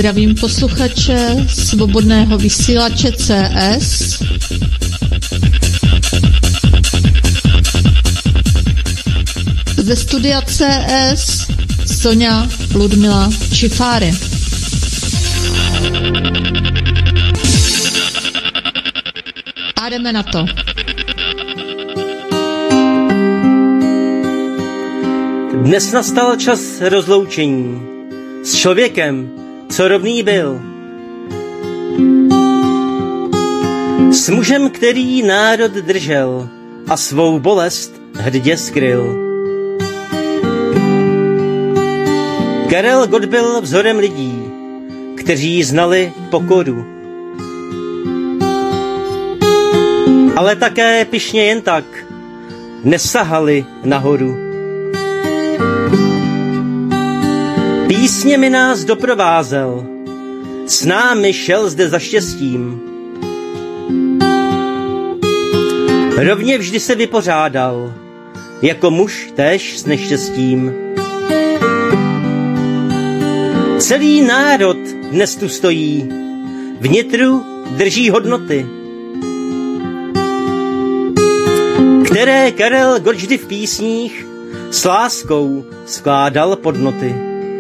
Zdravím posluchače Svobodného vysílače CS. Ze studia CS Sonja Ludmila Čifáry. A jdeme na to. Dnes nastal čas rozloučení s člověkem, co rovný byl. S mužem, který národ držel a svou bolest hrdě skryl. Karel Gott byl vzorem lidí, kteří znali pokoru. Ale také pyšně jen tak nesahali nahoru. Písněmi nás doprovázel, s námi šel zde za štěstím. Rovně vždy se vypořádal, jako muž též s neštěstím. Celý národ dnes tu stojí, vnitru drží hodnoty, které Karel Gott vždy v písních s láskou skládal pod noty.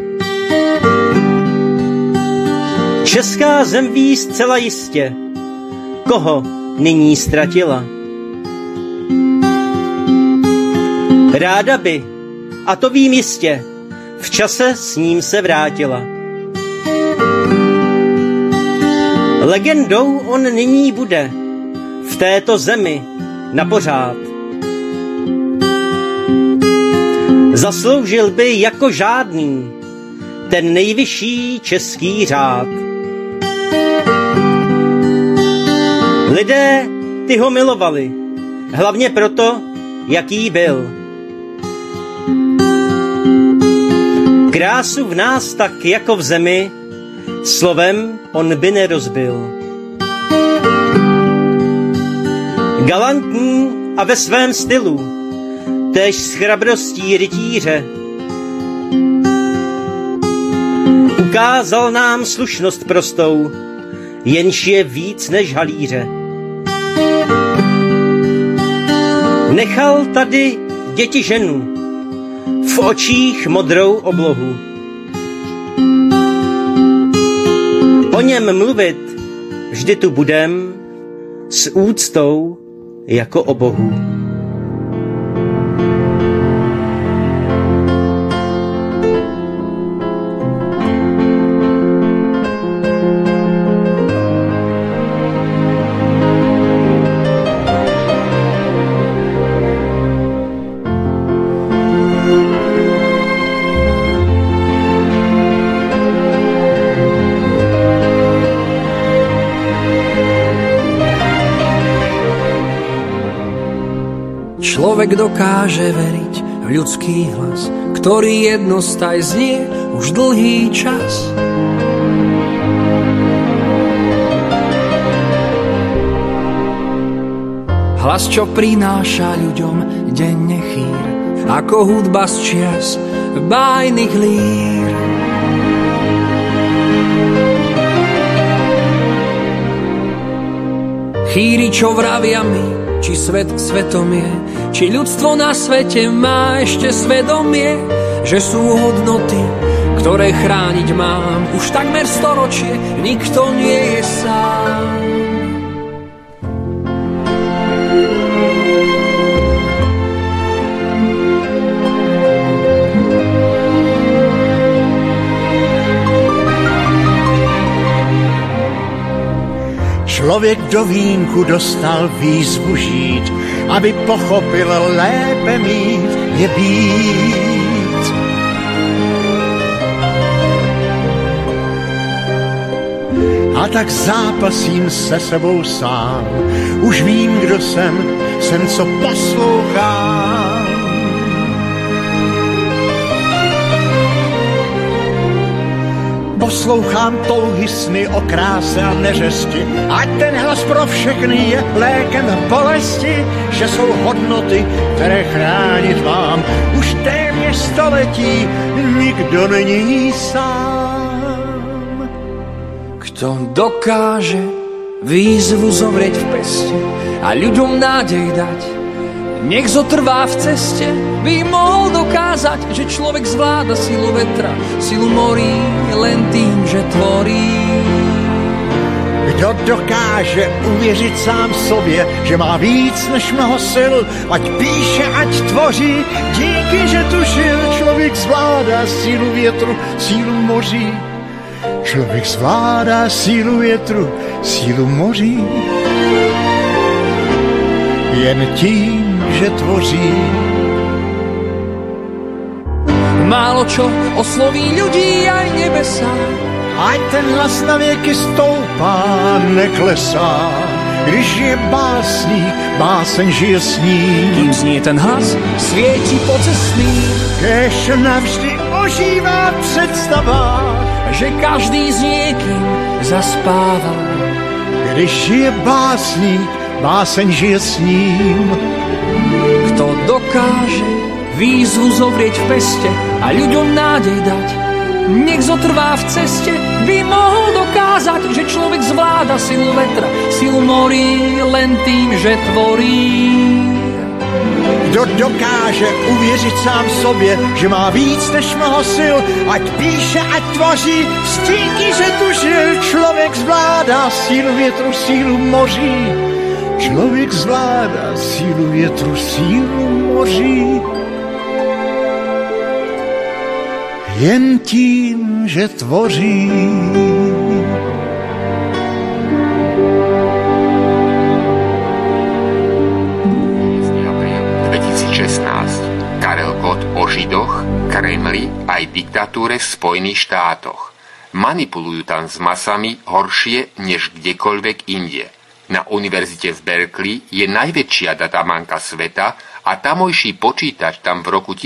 Česká zem ví zcela jistě, koho nyní ztratila. Ráda by, a to vím jistě, v čase s ním se vrátila. Legendou on nyní bude v této zemi napořád. Zasloužil by jako žádný ten nejvyšší český řád. Lidé ty ho milovali, hlavně proto, jaký byl. Krásu v nás tak jako v zemi, slovem on by nerozbil. Galantní a ve svém stylu, též s chrabrostí rytíře, ukázal nám slušnost prostou, jenž je víc než halíře. Nechal tady děti ženu, v očích modrou oblohu. O něm mluvit vždy tu budem s úctou jako o Bohu. Človek dokáže veriť v ľudský hlas, ktorý jednostaj znie už dlhý čas. Hlas, čo prináša ľuďom denne chýr, ako hudba z čias bájnych lír. Chýri, čo vravia mi, či svet svetom je, či ľudstvo na svete má ešte svedomie, že sú hodnoty, ktoré chrániť mám. Už takmer storočie nikto nie je sám. Člověk do vínku dostal výzvu žít, aby pochopil lépe mít je být. A tak zápasím se sebou sám, už vím, kdo jsem co poslouchám. Poslouchám touhy sny o kráse a neřesti, ať ten hlas pro všechny je lékem bolesti, že jsou hodnoty, které chránit mám. Už téměř století nikdo není sám. Kto dokáže výzvu zovrieť v peste a ľuďom nádej dať, nech zotrvá v ceste, by mohol dokázať, že človek zvláda silu vetra, silu morí len tým, že tvorí. Kdo dokáže uvěřit sám sobě, že má víc než mnoho sil, ať píše, ať tvoří, díky, že tušil, člověk zvládá sílu větru, sílu moří. Člověk zvládá sílu větru, sílu moří. Jen tím, že tvoří. Málo čo osloví ľudí aj nebesá, Ať ten hlas na věky stoupá, neklesá. Když je básník, báseň žije s ním. kým znie ten hlas, svieti po cestných, Kéž navždy ožívá představa, že každý s niekým zaspáva. když je básník, báseň žije s ním. Kto dokáže výzvu zovrieť v peste a ľuďom nádej dať, nech zotrvá v ceste, by mohol dokázať, že človek zvláda silu vetra, silu morí len tým, že tvorí. Kdo dokáže uvěřit sám sobě, že má víc než mnoho sil, ať píše, ať tvoří, stíky, že tušil, člověk zvládá sílu větru, sílu moří. Člověk zvládá sílu větru, sílu moří. Jen tím, že tvoří. Karel Gott o Židoch, Kremli aj diktatúre v Spojených štátoch. Manipulujú tam s masami horšie než kdekoľvek inde. Na univerzite v Berkeley je najväčšia databanka sveta a tamojší počítač tam v roku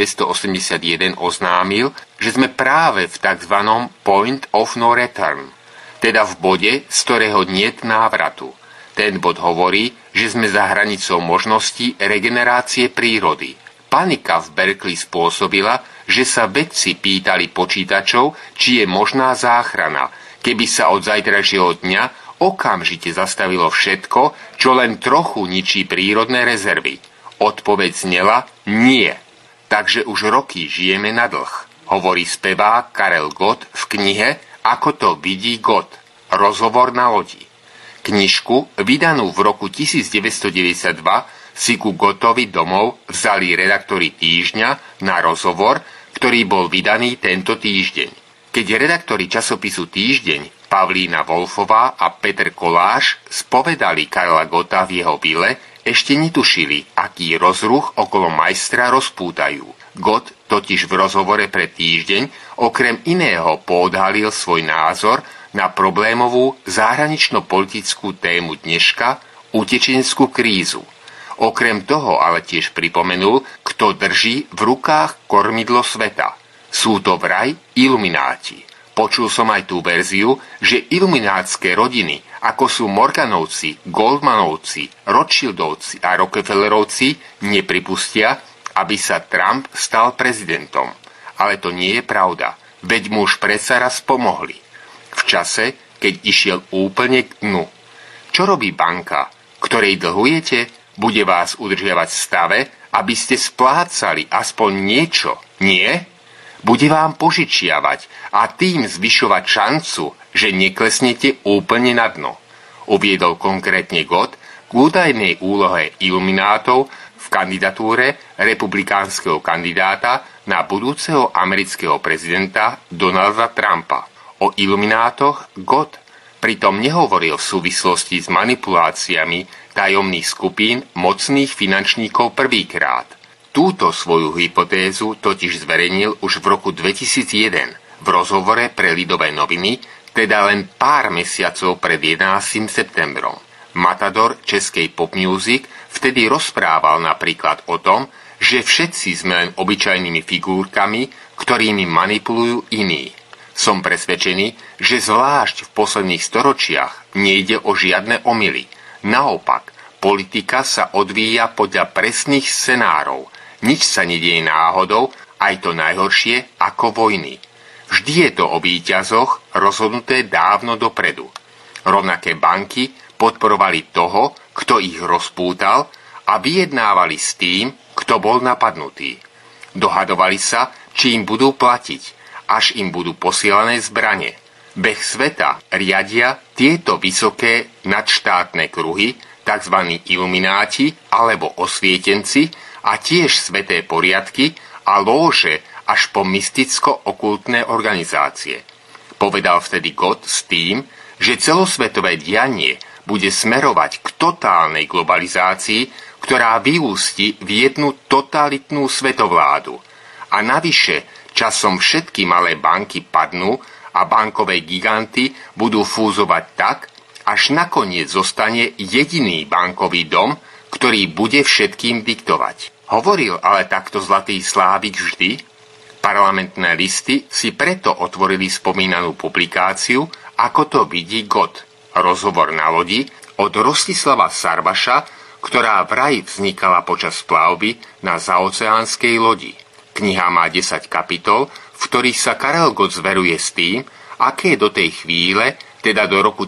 1981 oznámil, že sme práve v tzv. Point of no return, teda v bode, z ktorého niet návratu. Ten bod hovorí, že sme za hranicou možností regenerácie prírody. Panika v Berkeley spôsobila, že sa vedci pýtali počítačov, či je možná záchrana, keby sa od zajtrajšieho dňa okamžite zastavilo všetko, čo len trochu ničí prírodné rezervy. Odpoveď znela nie. Takže už roky žijeme na dlh, hovorí spevák Karel Gott v knihe Ako to vidí Gott. Rozhovor na lodi. Knižku, vydanú v roku 1992, si ku Gottovi domov vzali redaktori Týždňa na rozhovor, ktorý bol vydaný tento týždeň. Keď redaktori časopisu Týždeň Pavlína Wolfová a Peter Koláš spovedali Karla Gotta v jeho vile, ešte netušili, aký rozruch okolo majstra rozpútajú. Gott totiž v rozhovore pre Týždeň okrem iného poodhalil svoj názor na problémovú zahranično-politickú tému dneška, utečeneckú krízu. Okrem toho ale tiež pripomenul, kto drží v rukách kormidlo sveta. Sú to vraj ilumináti. Počul som aj tú verziu, že iluminátske rodiny, ako sú Morganovci, Goldmanovci, Rothschildovci a Rockefellerovci, nepripustia, aby sa Trump stal prezidentom. Ale to nie je pravda, veď mu už predsa raz pomohli. V čase, keď išiel úplne k dnu. Čo robí banka, ktorej dlhujete? Bude vás udržiavať v stave, aby ste splácali aspoň niečo, nie? Bude vám požičiavať a tým zvyšovať šancu, že neklesnete úplne na dno. Uviedol konkrétne Gott k údajnej úlohe iluminátov v kandidatúre republikánskeho kandidáta na budúceho amerického prezidenta Donalda Trumpa. O iluminátoch Gott pritom nehovoril v súvislosti s manipuláciami tajomných skupín mocných finančníkov prvýkrát. Túto svoju hypotézu totiž zverejnil už v roku 2001 v rozhovore pre Lidové noviny, teda len pár mesiacov pred 11. septembrom. Matador českej pop music vtedy rozprával napríklad o tom, že všetci sme len obyčajnými figúrkami, ktorými manipulujú iní. Som presvedčený, že zvlášť v posledných storočiach nejde o žiadne omyly. Naopak, politika sa odvíja podľa presných scenárov. Nič sa nedieje náhodou, aj to najhoršie ako vojny. V Vždy je to o víťazoch rozhodnuté dávno dopredu. Rovnaké banky podporovali toho, kto ich rozpútal, a vyjednávali s tým, kto bol napadnutý. Dohadovali sa, či im budú platiť, až im budú posielané zbrane. Beh sveta riadia tieto vysoké nadštátne kruhy, tzv. Ilumináti alebo osvietenci, a tiež sveté poriadky a lóže až po mysticko-okultné organizácie. Povedal vtedy Gott s tým, že celosvetové dianie bude smerovať k totálnej globalizácii, ktorá vyústi v jednu totalitnú svetovládu. A navyše časom všetky malé banky padnú a bankové giganty budú fúzovať tak, až nakoniec zostane jediný bankový dom, ktorý bude všetkým diktovať. Hovoril ale takto zlatý Slávik vždy? Parlamentné listy si preto otvorili spomínanú publikáciu, ako to vidí Gott. Rozhovor na lodi od Rostislava Sarvaša, ktorá vraj vznikala počas plavby na zaoceánskej lodi. Kniha má 10 kapitol, v ktorých sa Karel Gott zveruje s tým, aké do tej chvíle, teda do roku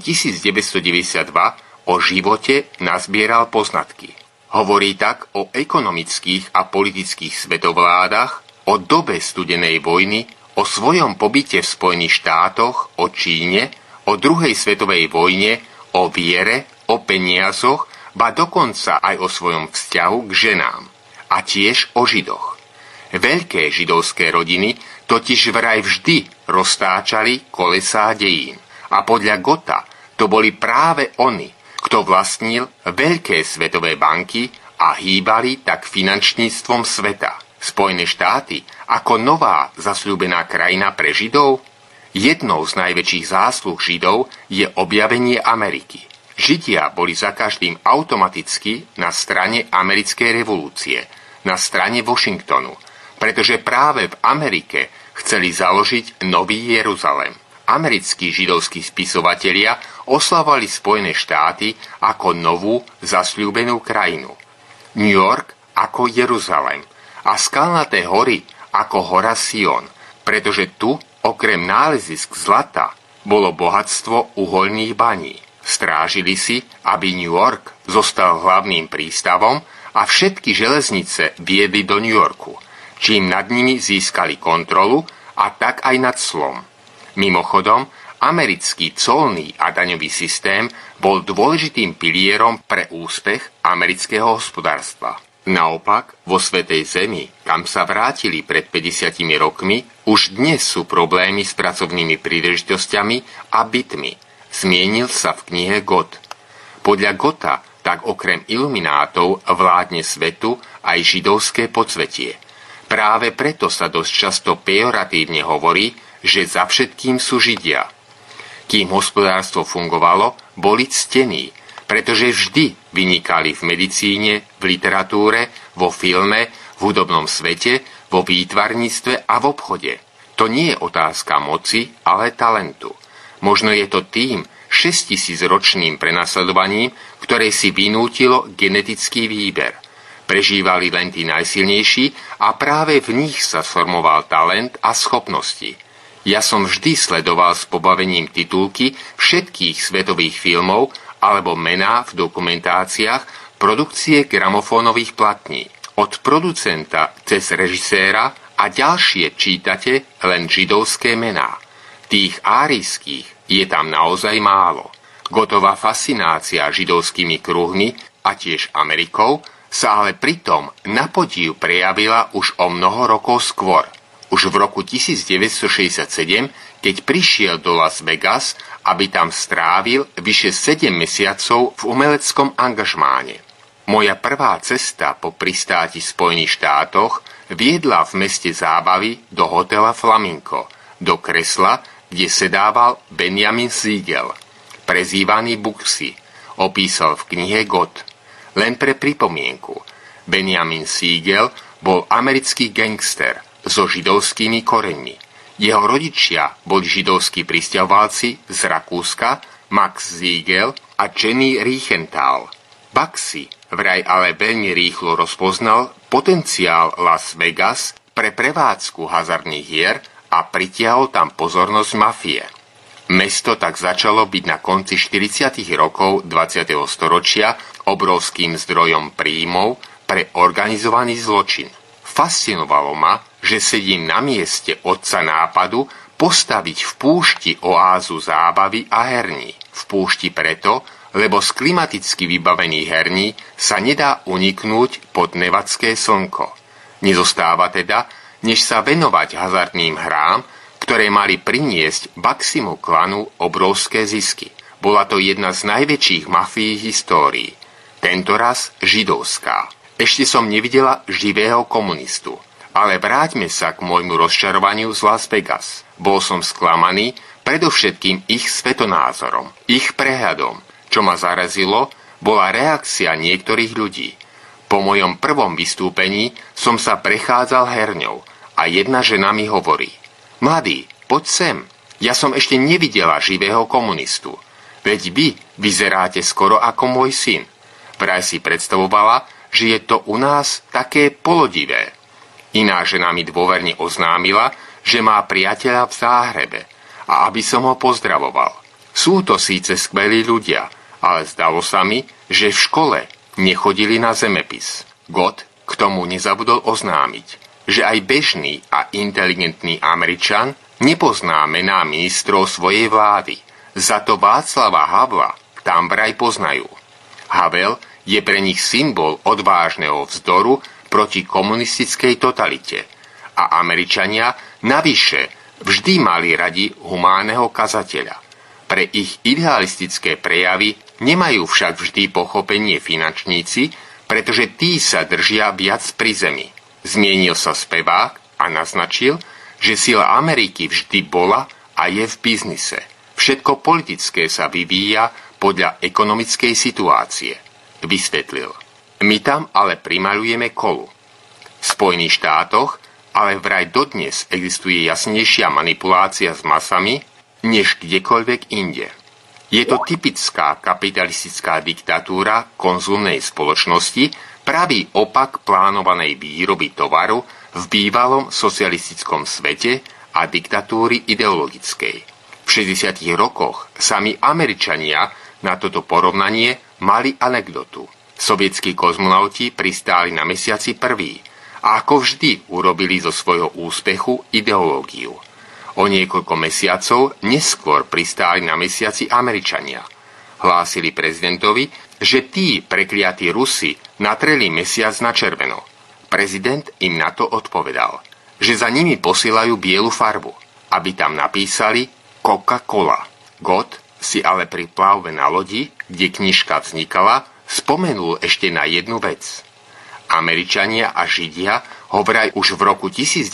1992, o živote nazbieral poznatky. Hovorí tak o ekonomických a politických svetovládach, o dobe studenej vojny, o svojom pobyte v Spojených štátoch, o Číne, o druhej svetovej vojne, o viere, o peniazoch, ba dokonca aj o svojom vzťahu k ženám. A tiež o Židoch. Veľké židovské rodiny totiž vraj vždy roztáčali kolesá dejín. A podľa Gotta to boli práve oni, kto vlastnil veľké svetové banky a hýbali tak finančníctvom sveta. Spojené štáty ako nová zasľúbená krajina pre Židov? Jednou z najväčších zásluh Židov je objavenie Ameriky. Židia boli za každým automaticky na strane americkej revolúcie, na strane Washingtonu, pretože práve v Amerike chceli založiť Nový Jeruzalem. Americkí židovskí spisovatelia oslavovali Spojené štáty ako novú zasľúbenú krajinu. New York ako Jeruzalem a skalnaté hory ako hora Sion, pretože tu, okrem nálezisk zlata, bolo bohatstvo uhoľných baní. Strážili si, aby New York zostal hlavným prístavom a všetky železnice viedli do New Yorku, čím nad nimi získali kontrolu a tak aj nad clom. Mimochodom, americký colný a daňový systém bol dôležitým pilierom pre úspech amerického hospodárstva. Naopak, vo Svätej Zemi, kam sa vrátili pred 50 rokmi, už dnes sú problémy s pracovnými príležitosťami a bytmi. Zmienil sa v knihe Gott. Podľa Gotta tak okrem iluminátov vládne svetu aj židovské podsvetie. Práve preto sa dosť často pejoratívne hovorí, že za všetkým sú Židia. Kým hospodárstvo fungovalo, boli ctení, pretože vždy vynikali v medicíne, v literatúre, vo filme, v hudobnom svete, vo výtvarníctve a v obchode. To nie je otázka moci, ale talentu. Možno je to tým 6000-ročným prenasledovaním, ktoré si vynútilo genetický výber. Prežívali len tí najsilnejší a práve v nich sa sformoval talent a schopnosti. Ja som vždy sledoval s pobavením titulky všetkých svetových filmov alebo mená v dokumentáciách produkcie gramofónových platní. Od producenta cez režiséra a ďalšie čítate len židovské mená. Tých árijských je tam naozaj málo. Gottová fascinácia židovskými kruhmi a tiež Amerikou sa ale pritom na podiv prejavila už o mnoho rokov skôr. Už v roku 1967, keď prišiel do Las Vegas, aby tam strávil vyše 7 mesiacov v umeleckom angažmáne. Moja prvá cesta po pristáti v Spojených štátoch viedla v meste zábavy do hotela Flamingo, do kresla, kde sedával Benjamin Siegel, prezývaný Bugsy, opísal v knihe Gott. Len pre pripomienku, Benjamin Siegel bol americký gangster so židovskými koreňmi. Jeho rodičia boli židovskí prisťahovalci z Rakúska, Max Siegel a Jenny Riechenthal. Bugsy vraj ale veľmi rýchlo rozpoznal potenciál Las Vegas pre prevádzku hazardných hier a pritiahol tam pozornosť mafie. Mesto tak začalo byť na konci 40. rokov 20. storočia obrovským zdrojom príjmov pre organizovaný zločin. Fascinovalo ma, že sedím na mieste otca nápadu postaviť v púšti oázu zábavy a herní. V púšti preto, lebo z klimaticky vybavených herní sa nedá uniknúť pod nevadské slnko. Nezostáva teda, než sa venovať hazardným hrám, ktoré mali priniesť Baximu klanu obrovské zisky. Bola to jedna z najväčších mafií histórií. Tentoraz židovská. Ešte som nevidela živého komunistu. Ale vráťme sa k môjmu rozčarovaniu z Las Vegas. Bol som sklamaný predovšetkým ich svetonázorom, ich prehľadom. Čo ma zarazilo, bola reakcia niektorých ľudí. Po mojom prvom vystúpení som sa prechádzal herňou a jedna žena mi hovorí: Mladý, poď sem, ja som ešte nevidela živého komunistu. Veď vy vyzeráte skoro ako môj syn. Vraj si predstavovala, že je to u nás také polodivé. Iná žena mi dôverne oznámila, že má priateľa v Záhrebe a aby som ho pozdravoval. Sú to síce skvelí ľudia, ale zdalo sa mi, že v škole nechodili na zemepis. God k tomu nezabudol oznámiť, že aj bežný a inteligentný Američan nepozná mená ministrov svojej vlády. Za to Václava Havla tam vraj poznajú. Havel je pre nich symbol odvážneho vzdoru proti komunistickej totalite. A Američania navyše vždy mali radi humánneho kazateľa. Pre ich idealistické prejavy nemajú však vždy pochopenie finančníci, pretože tí sa držia viac pri zemi. Zmienil sa spevák a naznačil, že sila Ameriky vždy bola a je v biznise. Všetko politické sa vyvíja podľa ekonomickej situácie. Vysvetlil. My tam ale primaľujeme kolu. V Spojených štátoch ale vraj dodnes existuje jasnejšia manipulácia s masami, než kdekoľvek inde. Je to typická kapitalistická diktatúra konzumnej spoločnosti, pravý opak plánovanej výroby tovaru v bývalom socialistickom svete a diktatúry ideologickej. V 60. rokoch sami Američania na toto porovnanie mali anekdotu. Sovietskí kozmonauti pristáli na mesiaci prví a ako vždy urobili zo svojho úspechu ideológiu. O niekoľko mesiacov neskôr pristáli na mesiaci Američania. Hlásili prezidentovi, že tí prekliatí Rusi natreli mesiac na červeno. Prezident im na to odpovedal, že za nimi posielajú bielu farbu, aby tam napísali Coca-Cola. God si ale pri plavbe na lodi, kde knižka vznikala, spomenul ešte na jednu vec. Američania a Židia ho vraj už v roku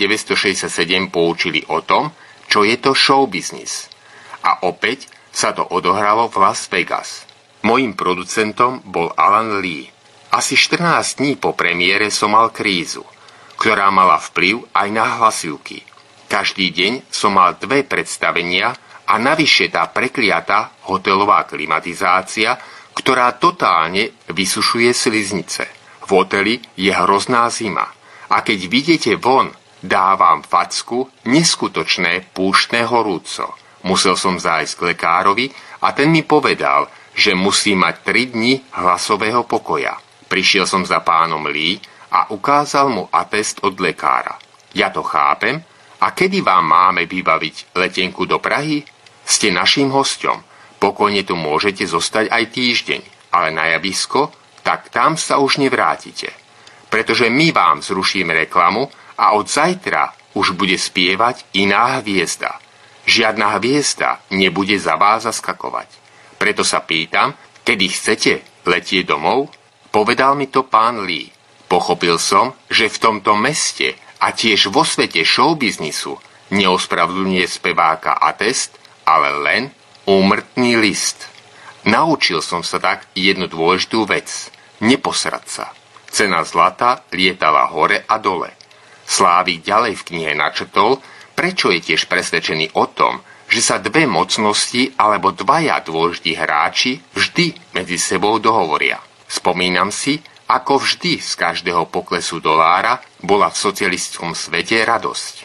1967 poučili o tom, čo je to showbiznis. A opäť sa to odohralo v Las Vegas. Mojím producentom bol Alan Lee. Asi 14 dní po premiére som mal krízu, ktorá mala vplyv aj na hlasivky. Každý deň som mal 2 predstavenia a navyše tá prekliatá hotelová klimatizácia, ktorá totálne vysušuje sliznice. V hoteli je hrozná zima a keď vidíte von, dávam facku neskutočné púštne horúco. Musel som zájsť k lekárovi a ten mi povedal, že musí mať 3 dni hlasového pokoja. Prišiel som za pánom Lee a ukázal mu atest od lekára. Ja to chápem. A kedy vám máme vybaviť letenku do Prahy? Ste naším hosťom. Pokojne tu môžete zostať aj týždeň, ale na javisko, tak tam sa už nevrátite. Pretože my vám zrušíme reklamu a od zajtra už bude spievať iná hviezda. Žiadna hviezda nebude za vás zaskakovať. Preto sa pýtam, kedy chcete letieť domov? Povedal mi to pán Lee. Pochopil som, že v tomto meste a tiež vo svete showbiznisu neospravedlňuje speváka atest, ale len úmrtný list. Naučil som sa tak jednu dôležitú vec. Neposrať sa. Cena zlata lietala hore a dole. Slávik ďalej v knihe načrtol, prečo je tiež presvedčený o tom, že sa 2 mocnosti alebo 2 dôležití hráči vždy medzi sebou dohovoria. Spomínam si, ako vždy z každého poklesu dolára bola v socialistickom svete radosť.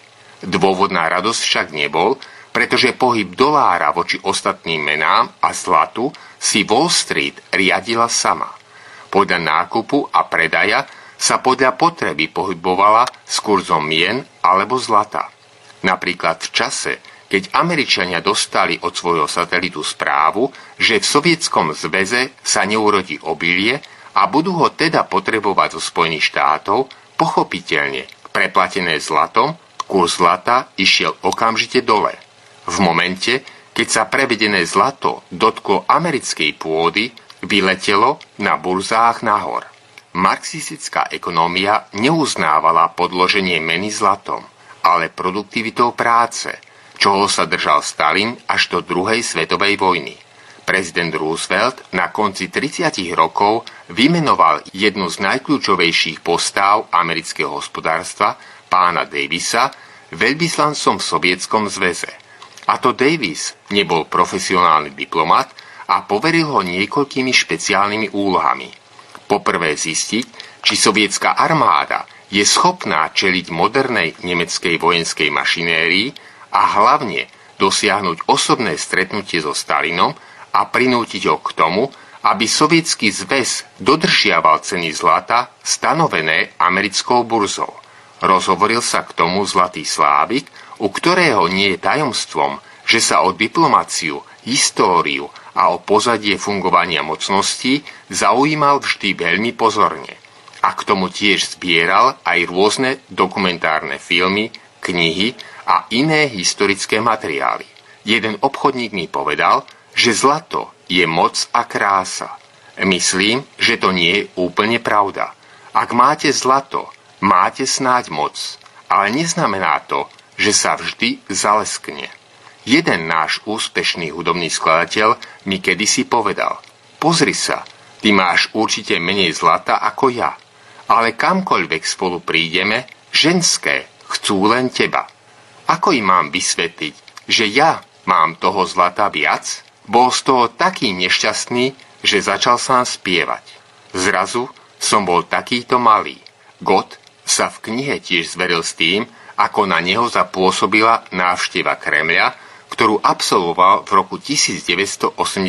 Dôvod na radosť však nebol, pretože pohyb dolára voči ostatným menám a zlatu si Wall Street riadila sama. Podľa nákupu a predaja sa podľa potreby pohybovala s kurzom mien alebo zlata. Napríklad v čase, keď Američania dostali od svojho satelitu správu, že v Sovietskom zväze sa neurodí obilie a budú ho teda potrebovať zo Spojených štátov, pochopiteľne preplatené zlatom, kurz zlata išiel okamžite dole. V momente, keď sa prevedené zlato dotklo americkej pôdy, vyletelo na burzách nahor. Marxistická ekonómia neuznávala podloženie meny zlatom, ale produktivitou práce, čoho sa držal Stalin až do druhej svetovej vojny. Prezident Roosevelt na konci 30 rokov vymenoval jednu z najkľúčovejších postáv amerického hospodárstva, pána Davisa, veľvyslancom v Sovietskom zväze. A to Davis nebol profesionálny diplomat a poveril ho niekoľkými špeciálnymi úlohami. Poprvé zistiť, či sovietská armáda je schopná čeliť modernej nemeckej vojenskej mašinérii a hlavne dosiahnuť osobné stretnutie so Stalinom a prinútiť ho k tomu, aby Sovietsky zväz dodržiaval ceny zlata stanovené americkou burzou. Rozhovoril sa k tomu Zlatý Slávik, u ktorého nie je tajomstvom, že sa o diplomáciu, históriu a o pozadie fungovania mocností zaujímal vždy veľmi pozorne. A k tomu tiež zbieral aj rôzne dokumentárne filmy, knihy a iné historické materiály. Jeden obchodník mi povedal, že zlato je moc a krása. Myslím, že to nie je úplne pravda. Ak máte zlato, máte snáď moc, ale neznamená to, že sa vždy zaleskne. Jeden náš úspešný hudobný skladateľ mi kedysi povedal: pozri sa, ty máš určite menej zlata ako ja, ale kamkoľvek spolu prídeme, ženské chcú len teba. Ako im mám vysvetliť, že ja mám toho zlata viac? Bol z toho taký nešťastný, že začal sám spievať. Zrazu som bol takýto malý. Gott sa v knihe tiež zveril s tým, ako na neho zapôsobila návšteva Kremľa, ktorú absolvoval v roku 1987.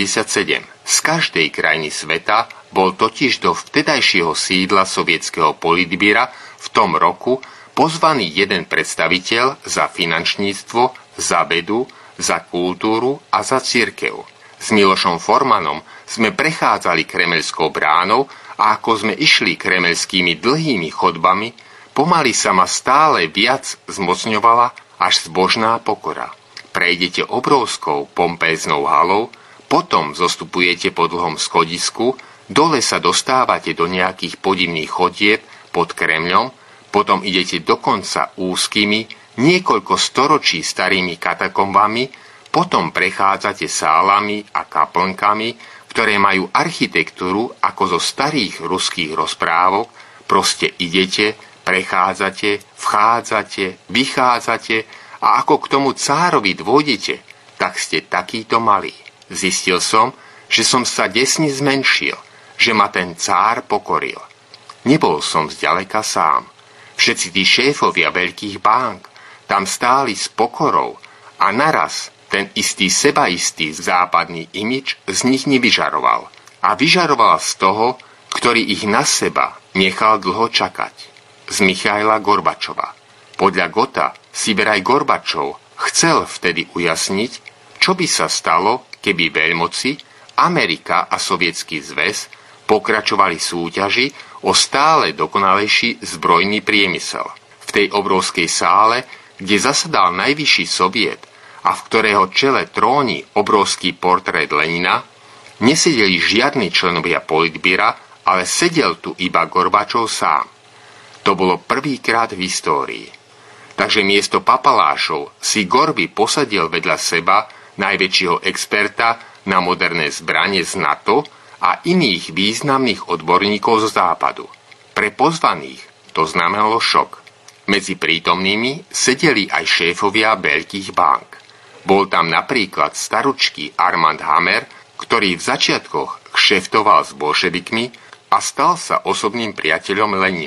Z každej krajiny sveta bol totiž do vtedajšieho sídla sovietskeho politbíra v tom roku pozvaný jeden predstaviteľ za finančníctvo, za vedu, za kultúru a za cirkev. S Milošom Formanom sme prechádzali Kremeľskou bránou a ako sme išli kremeľskými dlhými chodbami, pomaly sa ma stále viac zmocňovala až zbožná pokora. Prejdete obrovskou pompéznou halou, potom zostupujete po dlhom schodisku, dole sa dostávate do nejakých podivných chodieb pod Kremľom, potom idete dokonca úzkými, niekoľko storočí starými katakombami, potom prechádzate sálami a kaplnkami, ktoré majú architektúru ako zo starých ruských rozprávok, proste idete, prechádzate, vchádzate, vychádzate a ako k tomu cárovi dôjdete, tak ste takýto malí. Zistil som, že som sa desne zmenšil, že ma ten cár pokoril. Nebol som zďaleka sám. Všetci tí šéfovia veľkých bank tam stáli s pokorou a naraz ten istý sebaistý západný imič z nich nevyžaroval. A vyžaroval z toho, ktorý ich na seba nechal dlho čakať. Z Michaila Gorbačova. Podľa Gotta si vraj Gorbačov chcel vtedy ujasniť, čo by sa stalo, keby veľmoci, Amerika a Sovietsky zväz pokračovali súťaži o stále dokonalejší zbrojný priemysel. V tej obrovskej sále, kde zasadal najvyšší soviet a v ktorého čele tróni obrovský portrét Lenina, nesedeli žiadni členovia politbíra, ale sedel tu iba Gorbačov sám. To bolo prvýkrát v histórii. Takže miesto papalášov si Gorby posadil vedľa seba najväčšieho experta na moderné zbranie z NATO a iných významných odborníkov z západu. Pre pozvaných to znamenalo šok. Medzi prítomnými sedeli aj šéfovia veľkých bank. Bol tam napríklad staručký Armand Hammer, ktorý v začiatkoch kšeftoval s bolševikmi a stal sa osobným priateľom Lenina.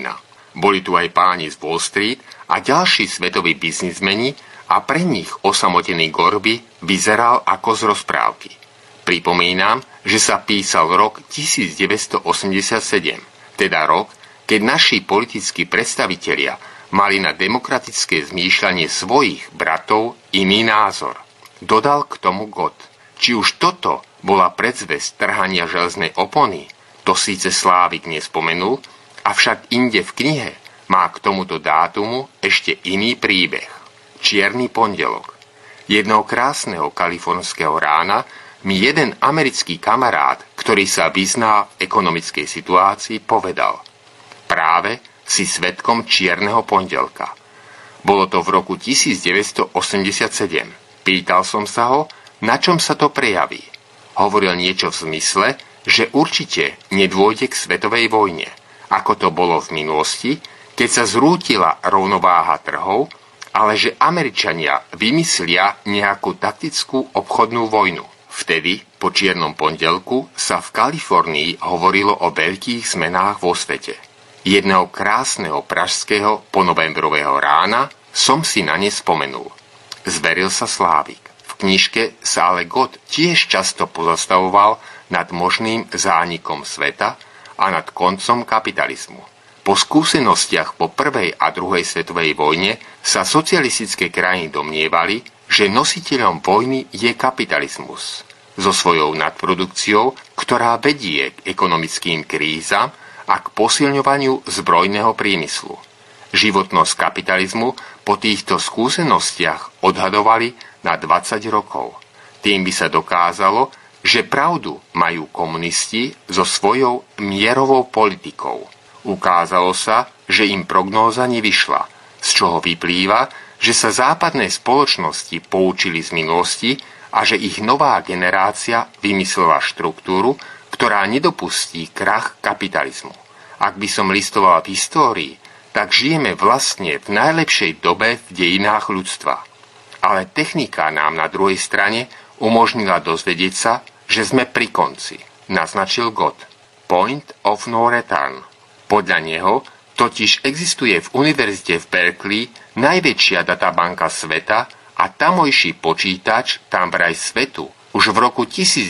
Boli tu aj páni z Wall Street a ďalší svetoví biznismeni a pre nich osamotený Gorby vyzeral ako z rozprávky. Pripomínam, že sa písal rok 1987, teda rok, keď naši politickí predstavitelia mali na demokratické zmýšľanie svojich bratov iný názor. Dodal k tomu Gott. Či už toto bola predzvesť trhania železnej opony, to síce Slávik nespomenul, avšak inde v knihe má k tomuto dátumu ešte iný príbeh. Čierny pondelok. Jedného krásneho kalifornského rána mi jeden americký kamarát, ktorý sa vyzná v ekonomickej situácii, povedal: práve si svedkom čierneho pondelka. Bolo to v roku 1987. Pýtal som sa ho, na čom sa to prejaví. Hovoril niečo v zmysle, že určite nedôjde k svetovej vojne, ako to bolo v minulosti, keď sa zrútila rovnováha trhov, ale že Američania vymyslia nejakú taktickú obchodnú vojnu. Vtedy, po čiernom pondelku, sa v Kalifornii hovorilo o veľkých zmenách vo svete. Jedného krásneho pražského ponovembrového rána som si na ne spomenul. Zveril sa Slávik. V knižke sa ale Gott tiež často pozastavoval nad možným zánikom sveta a nad koncom kapitalizmu. Po skúsenostiach po prvej a druhej svetovej vojne sa socialistické krajiny domnievali, že nositeľom vojny je kapitalizmus so svojou nadprodukciou, ktorá vedie k ekonomickým krízam a k posilňovaniu zbrojného priemyslu. Životnosť kapitalizmu po týchto skúsenostiach odhadovali na 20 rokov. Tým by sa dokázalo, že pravdu majú komunisti so svojou mierovou politikou. Ukázalo sa, že im prognóza nevyšla, z čoho vyplýva, že sa západné spoločnosti poučili z minulosti a že ich nová generácia vymyslela štruktúru, ktorá nedopustí krach kapitalizmu. Ak by som listovala v histórii, tak žijeme vlastne v najlepšej dobe v dejinách ľudstva. Ale technika nám na druhej strane umožnila dozvedieť sa, že sme pri konci, naznačil Gott. Point of no return. Podľa neho totiž existuje v univerzite v Berkeley najväčšia databanka sveta a tamojší počítač tam vraj svetu už v roku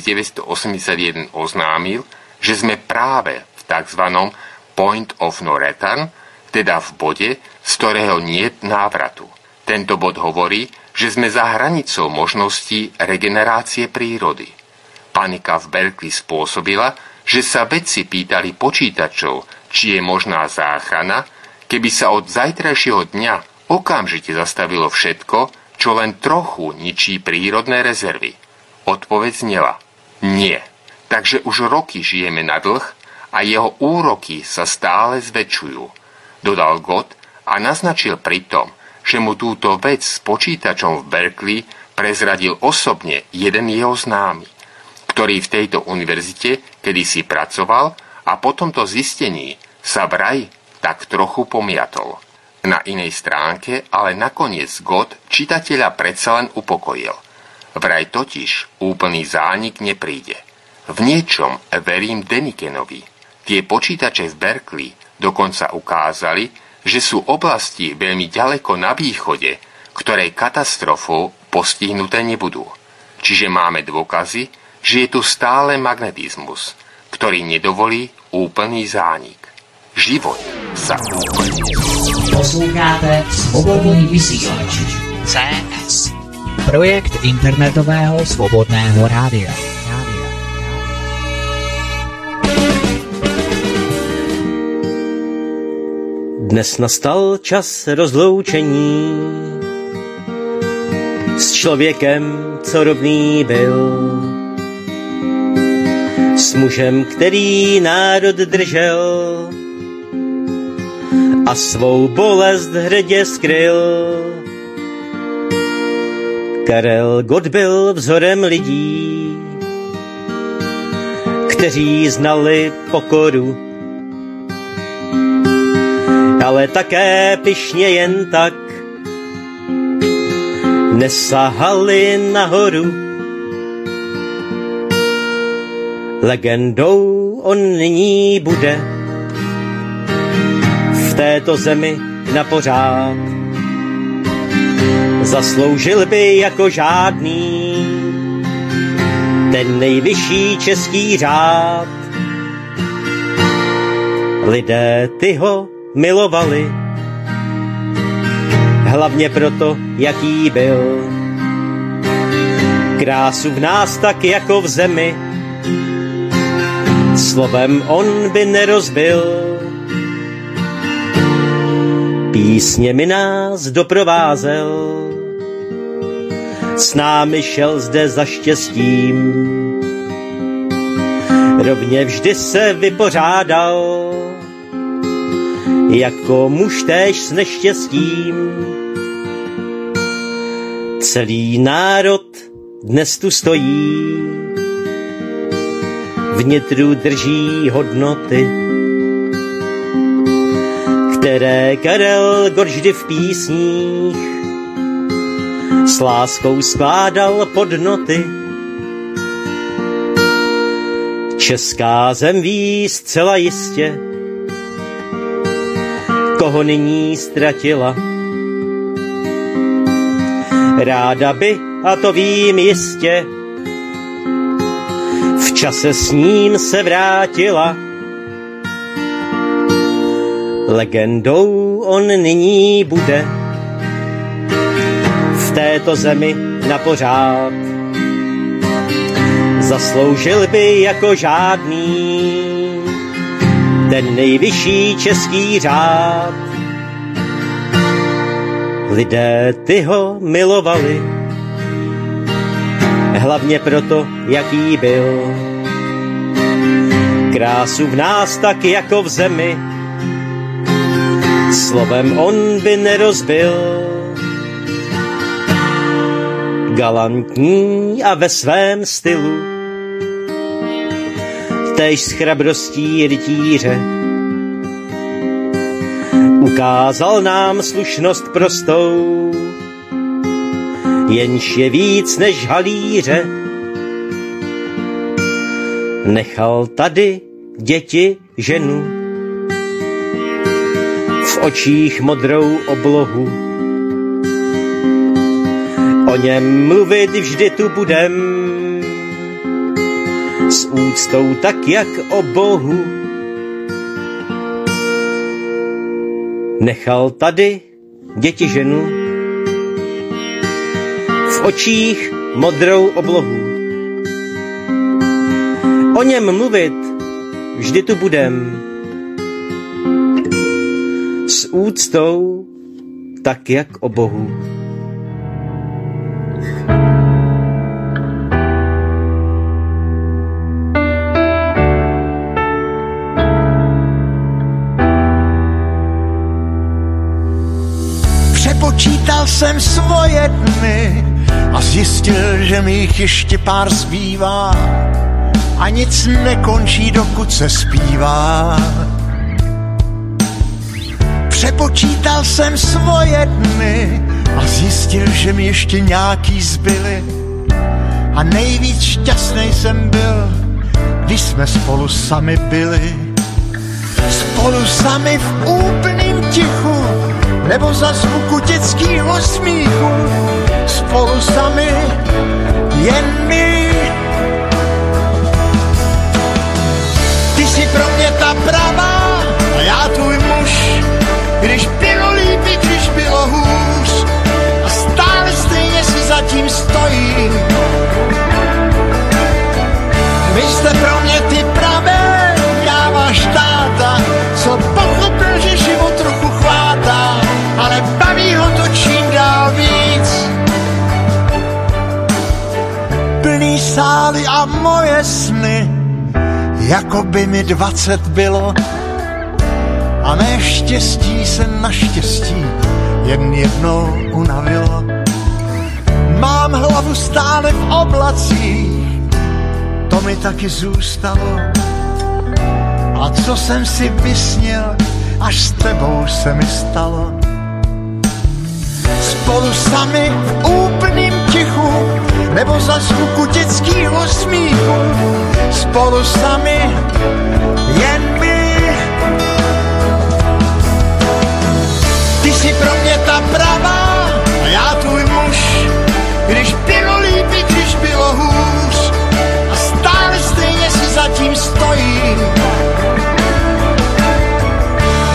1981 oznámil, že sme práve v tzv. Point of no return, teda v bode, z ktorého niet návratu. Tento bod hovorí, že sme za hranicou možností regenerácie prírody. Panika v Berkeley spôsobila, že sa vedci pýtali počítačov, či je možná záchrana, keby sa od zajtrajšieho dňa okamžite zastavilo všetko, čo len trochu ničí prírodné rezervy. Odpoveď znela: nie. Takže už roky žijeme na dlh a jeho úroky sa stále zväčšujú, dodal Gott a naznačil pritom, že mu túto vec s počítačom v Berkeley prezradil osobne jeden jeho známy, ktorý v tejto univerzite kedysi pracoval a po tomto zistení sa vraj tak trochu pomiatol. Na inej stránke ale nakoniec Gott čitateľa predsa len upokojil. Vraj totiž úplný zánik nepríde. V niečom verím Denikenovi. Tie počítače v Berkeley dokonca ukázali, že sú oblasti veľmi ďaleko na východe, ktoré katastrofou postihnuté nebudú. Čiže máme dôkazy, že je tu stále magnetizmus, ktorý nedovolí úplný zánik. Život sa úplne... Posloucháte Svobodný vysílač CS, projekt internetového svobodného rádia. Dnes nastal čas rozloučení s člověkem, co rovný byl, s mužem, který národ držel a svou bolest hrdě skryl. Karel Gott byl vzorem lidí, kteří znali pokoru, ale také pyšně jen tak nesahali nahoru. Legendou on nyní bude v této zemi na pořád. Zasloužil by jako žádný ten nejvyšší český řád. Lidé ty ho milovali, hlavně proto, jaký byl. Krásu v nás tak jako v zemi, slovem on by nerozbil. Písněmi nás doprovázel, s námi šel zde za štěstím. Rovně vždy se vypořádal, jako muž též s neštěstím. Celý národ dnes tu stojí, vnitru drží hodnoty, které Karel Gott vždy v písních s láskou skládal pod noty. Česká zem ví zcela jistě, koho nyní ztratila. Ráda by, a to vím jistě, v čase s ním se vrátila. Legendou on nyní bude v této zemi na pořád. Zasloužil by jako žádný ten nejvyšší český řád. Lidé ty ho milovali, hlavně proto, jaký byl. Krásu v nás tak jako v zemi, slovem on by nerozbil. Galantní a ve svém stylu, též s chrabrostí rytíře, ukázal nám slušnost prostou, jenž je víc než halíře. Nechal tady děti, ženu, v očích modrou oblohu. O něm mluvit vždy tu budem, s úctou tak jak o Bohu. Nechal tady děti, ženu, v očích modrou oblohu. O něm mluvit vždy tu budem, s úctou tak jak o Bohu. Přepočítal jsem svoje dny a zjistil, že mi jich ještě pár zbývá a nic nekončí, dokud se zpívá. Přepočítal jsem svoje dny a zjistil, že mi ještě nějaký zbyly a nejvíc šťastnej jsem byl, když jsme spolu sami byli. Spolu sami v úplným tichu, nebo za zvuku dětskýho smíchu. Spolu sami, jen my. Ty jsi pro mě ta pravá a já tvůj muž, když bylo líp, když bylo hůř a stále stejně si zatím stojím. Vy jste pro mě ty pravé, já váš táta, co pochopil, že život trochu chvátá, ale baví ho to čím dál víc. Plný sály a moje sny, jako by mi 20 bylo a mé štěstí se naštěstí jen jednou unavilo. Mám hlavu stále v oblacích, to mi taky zůstalo. A co jsem si vysnil, až s tebou se mi stalo. Spolu sami v úplným tichu, nebo za zvuku dětskýho smíchu. Spolu sami, jen my.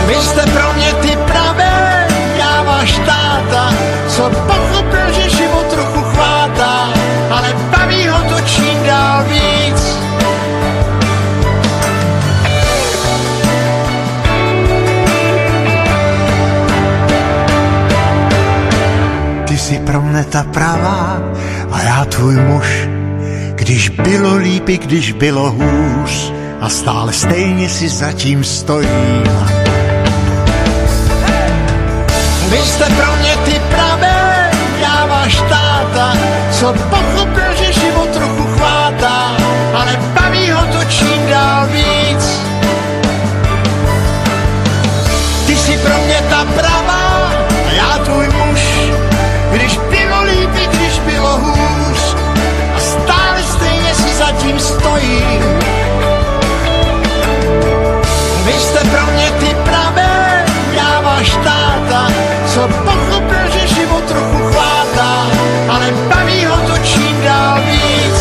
Vy jste pro mě ty pravé, já váš táta, co pochopil, že život trochu chvátá, ale baví ho to čím dál víc. Ty jsi pro mne ta pravá a já tvůj muž, když bylo líp i když bylo hůř a stále stejně si zatím stojím. Vy jste pro mě ty pravé, já váš táta, co pochopil, že život trochu chvátá, ale baví ho to čím dál víc. Ty jsi pro mě ta pravá a já tvůj muž, když bylo líp i když bylo hůř a stále stejně si zatím stojím. Vy jste pro mě ty pravé, já váš táta, co pochopil, že život trochu chvátá, ale baví ho to čím dál víc.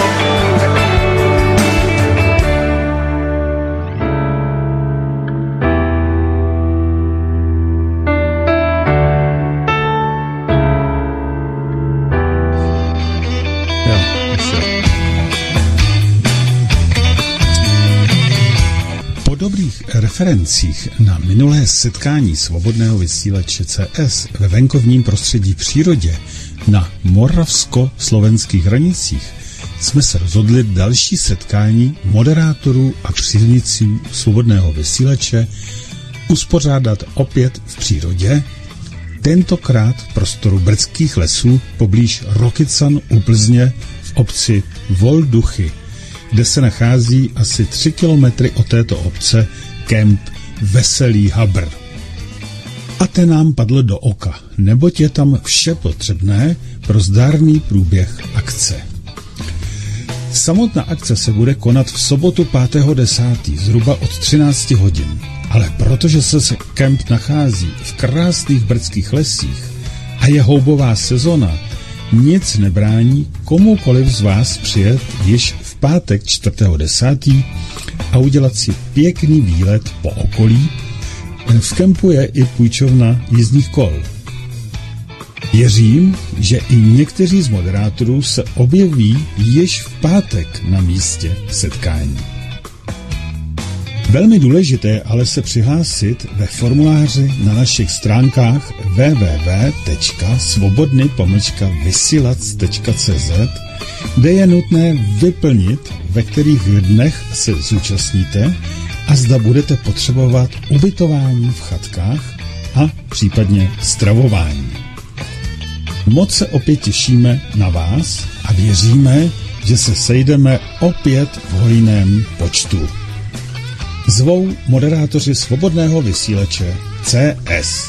Po dobrých referencích na minulé setkání svobodného vysílače CS ve venkovním prostředí v přírodě na moravsko-slovenských hranicích jsme se rozhodli další setkání moderátorů a příznivců svobodného vysílače uspořádat opět v přírodě, tentokrát v prostoru brdských lesů poblíž Rokycan u Plzně v obci Volduchy, kde se nachází asi 3 kilometry od této obce kemp Veselý Habr. A ten nám padl do oka, neboť je tam vše potřebné pro zdárný průběh akce. Samotná akce se bude konat v sobotu 5.10. zhruba od 13 hodin, ale protože se kemp nachází v krásných brdských lesích a je houbová sezona, nic nebrání komukoliv z vás přijet již v pátek 4.10. a udělat si pěkný výlet po okolí. V kempu je i půjčovna jízdních kol. Věřím, že i někteří z moderátorů se objeví již v pátek na místě setkání. Velmi důležité je ale se přihlásit ve formuláři na našich stránkách www.svobodny-vysilac.cz, kde je nutné vyplnit, ve kterých dnech se zúčastníte a zda budete potřebovat ubytování v chatkách a případně stravování. Moc se opět těšíme na vás a věříme, že se sejdeme opět v hojném počtu. Zvou moderátoři svobodného vysílače CS.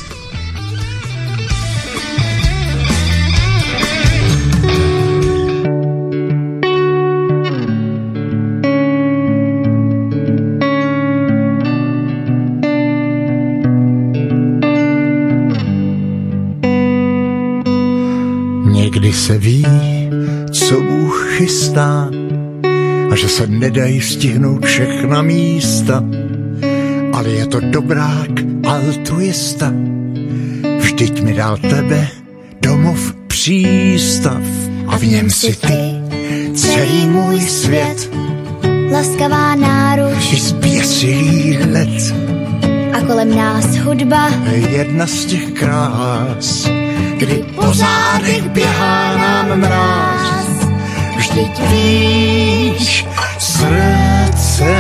Někdy se ví, co Bůh chystá, a že se nedají stihnout všechna místa, ale je to dobrák altruista. Vždyť mi dal tebe domov přístav a v něm si ty, celý můj svět, laskavá náruč i zběsilý let a kolem nás hudba, jedna z těch krás, kdy po zádech běhá nám mráz. Vždyť víš, srdce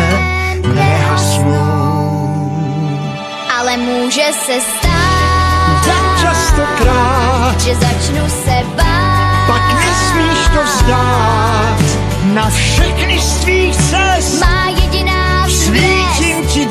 nehasnou, ale může se stát, tak častokrát, že začnu se bát, pak nesmíš to vzdát. Na všechny z tvých cest má jediná svítím ti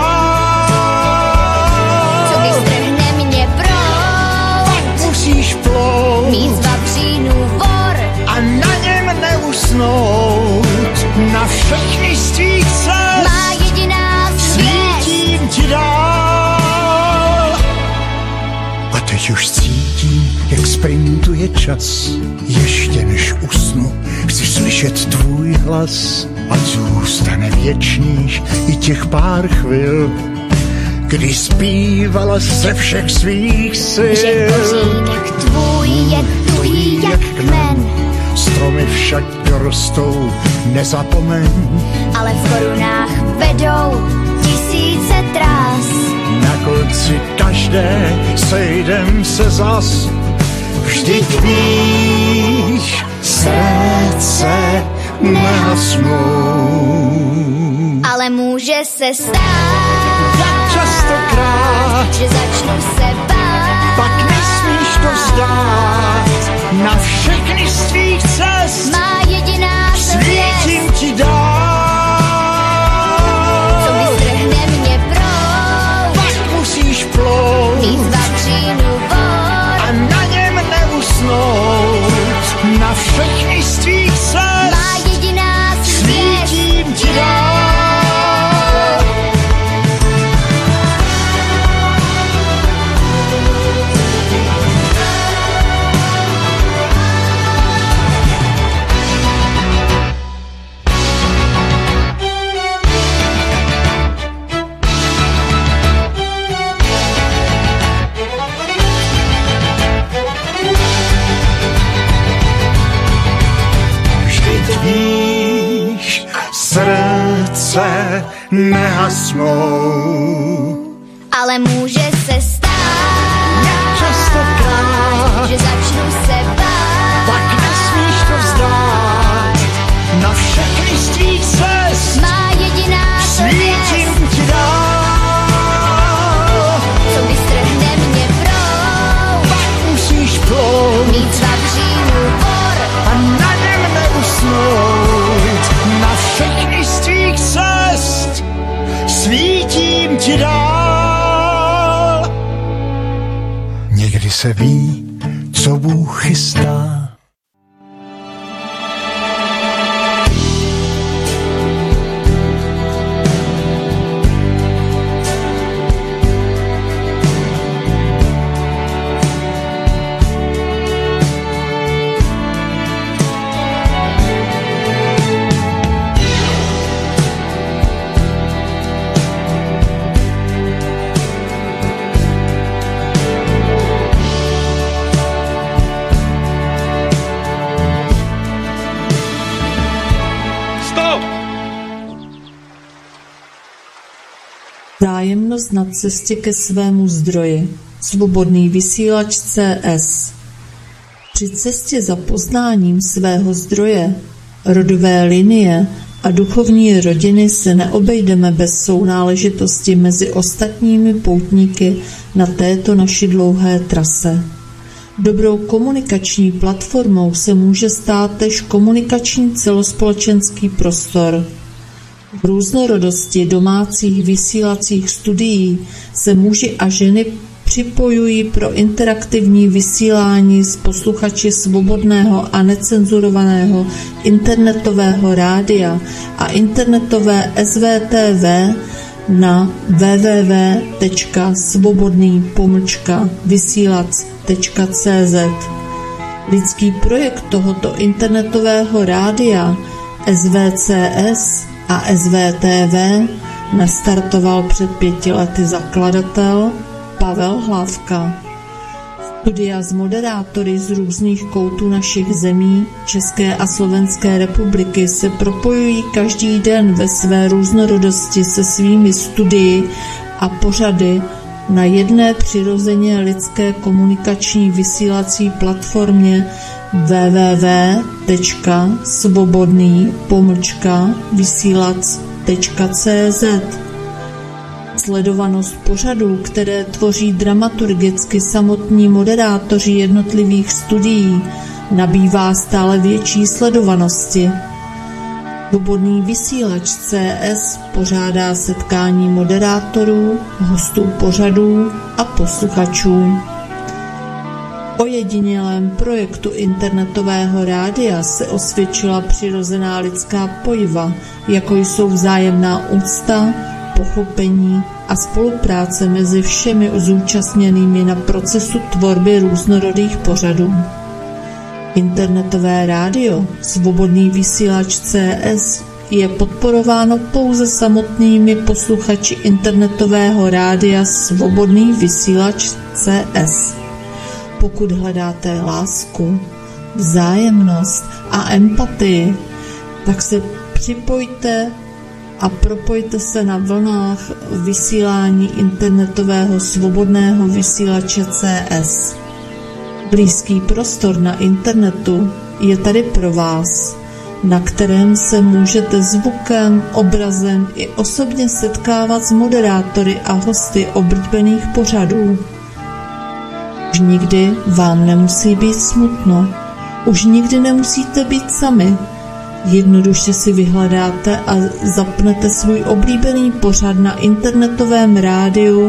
dál. co vystrhne mě proud, Pak musíš plout, mít z vavřínů vor a na něm neusnout. Na všechny z tvých cest má jediná svítím ti dál. A teď už cítím, jak sprintuje čas. Ještě než usnu, chci slyšet tvůj hlas. Ať zůstane věčných i těch pár chvil, kdy zpívala ze všech svých sil. Že kořínek tvůj je tuhý jak kmen, Stromy však dorostou, nezapomeň. ale v korunách vedou tisíce trás. Na konci každé sejdem se zas. Vždyť víš, srdce nehasnou. Ale může se stát, Jak častokrát, že začnu se bát. pak nesmíš to vzdát. Na všechny z tvých cest Má jediná svítím svět, ti dál. co vystrhne mě proud. Pak musíš plout Víc vavřínu vod, a na něm neusnout. Na všechny z tvých cest má jediná svět. svítím ti dál. Víš, srdce nehasnou. Ale může se stát, Častokrát, že začnu se bát. pak nesmíš to vzdát. Na všechny z tvých cest Má jediná svítím svět, ti dál. co vystrhne mě proud. Pak musíš plout Mít vavřínu vor, a na něm neusnout. Na všechny z tvých cest svítím ti dál. Někdy se ví, co Bůh chystá. Vzájemnost na cestě ke svému zdroji. Svobodný vysílač CS. Při cestě za poznáním svého zdroje, rodové linie a duchovní rodiny se neobejdeme bez sounáležitosti mezi ostatními poutníky na této naší dlouhé trase. Dobrou komunikační platformou se může stát též komunikační celospolečenský prostor. V různorodosti domácích vysílacích studií se muži a ženy připojují pro interaktivní vysílání s posluchači svobodného a necenzurovaného internetového rádia a internetové SVTV na www.svobodný-vysílac.cz. Lidský projekt tohoto internetového rádia SVCS a SVTV nastartoval před 5 lety zakladatel Pavel Hlavka. Studia s moderátory z různých koutů našich zemí, České a Slovenské republiky se propojují každý den ve své různorodosti se svými studii a pořady na jedné přirozeně lidské komunikační vysílací platformě www.svobodný-vysílac.cz. Sledovanost pořadů, které tvoří dramaturgicky samotní moderátoři jednotlivých studií, nabývá stále větší sledovanosti. Svobodný vysílač CS pořádá setkání moderátorů, hostů pořadů a posluchačů. Ojedinělém projektu internetového rádia se osvědčila přirozená lidská pojiva, jako jsou vzájemná úcta, pochopení a spolupráce mezi všemi zúčastněnými na procesu tvorby různorodých pořadů. Internetové rádio Svobodný vysílač CS je podporováno pouze samotnými posluchači internetového rádia Svobodný vysílač CS. Pokud hledáte lásku, vzájemnost a empatii, tak se připojte a propojte se na vlnách vysílání internetového svobodného vysílače CS. Blízký prostor na internetu je tady pro vás, na kterém se můžete zvukem, obrazem i osobně setkávat s moderátory a hosty oblíbených pořadů. Už nikdy vám nemusí být smutno, už nikdy nemusíte být sami. Jednoduše si vyhledáte a zapnete svůj oblíbený pořad na internetovém rádiu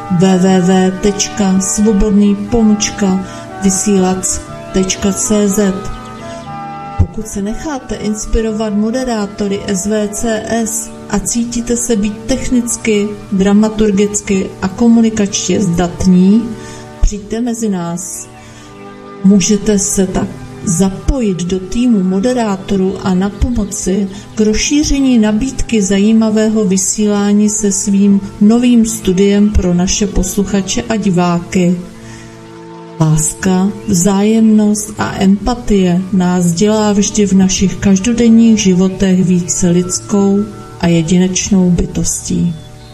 www.svobodný-vysílac.cz. Pokud se necháte inspirovat moderátory SVCS a cítíte se být technicky, dramaturgicky a komunikačně zdatní, přijďte mezi nás. Můžete se tak zapojit do týmu moderátorů a napomoci k rozšíření nabídky zajímavého vysílání se svým novým studiem pro naše posluchače a diváky. Láska, vzájemnost a empatie nás dělá vždy v našich každodenních životech více lidskou a jedinečnou bytostí.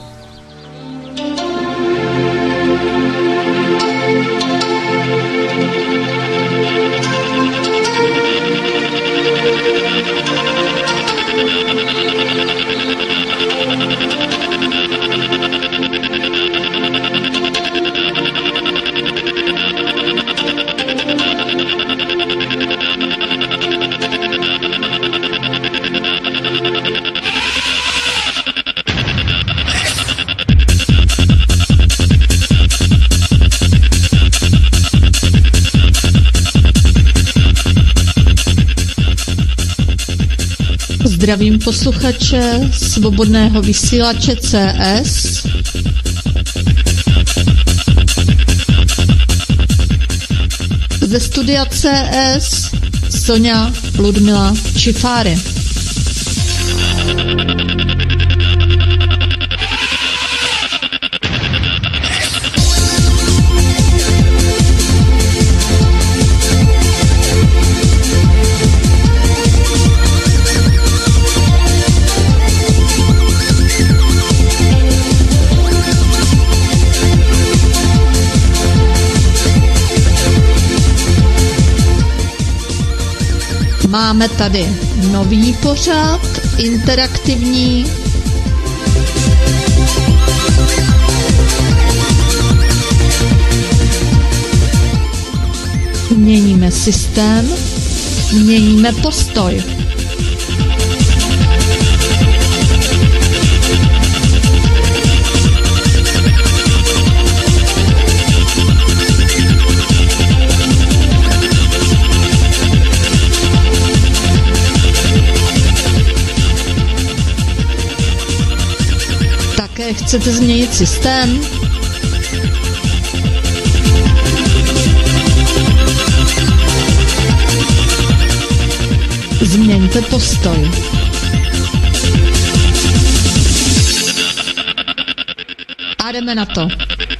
Zdravím posluchače Svobodného vysílače CS. Ze studia CS Sonja Ludmila Čifáry. Máme tady nový pořad, interaktivní. Měníme systém, měníme postoj. Chcete změnit systém? Změňte postoj. A jdeme na to.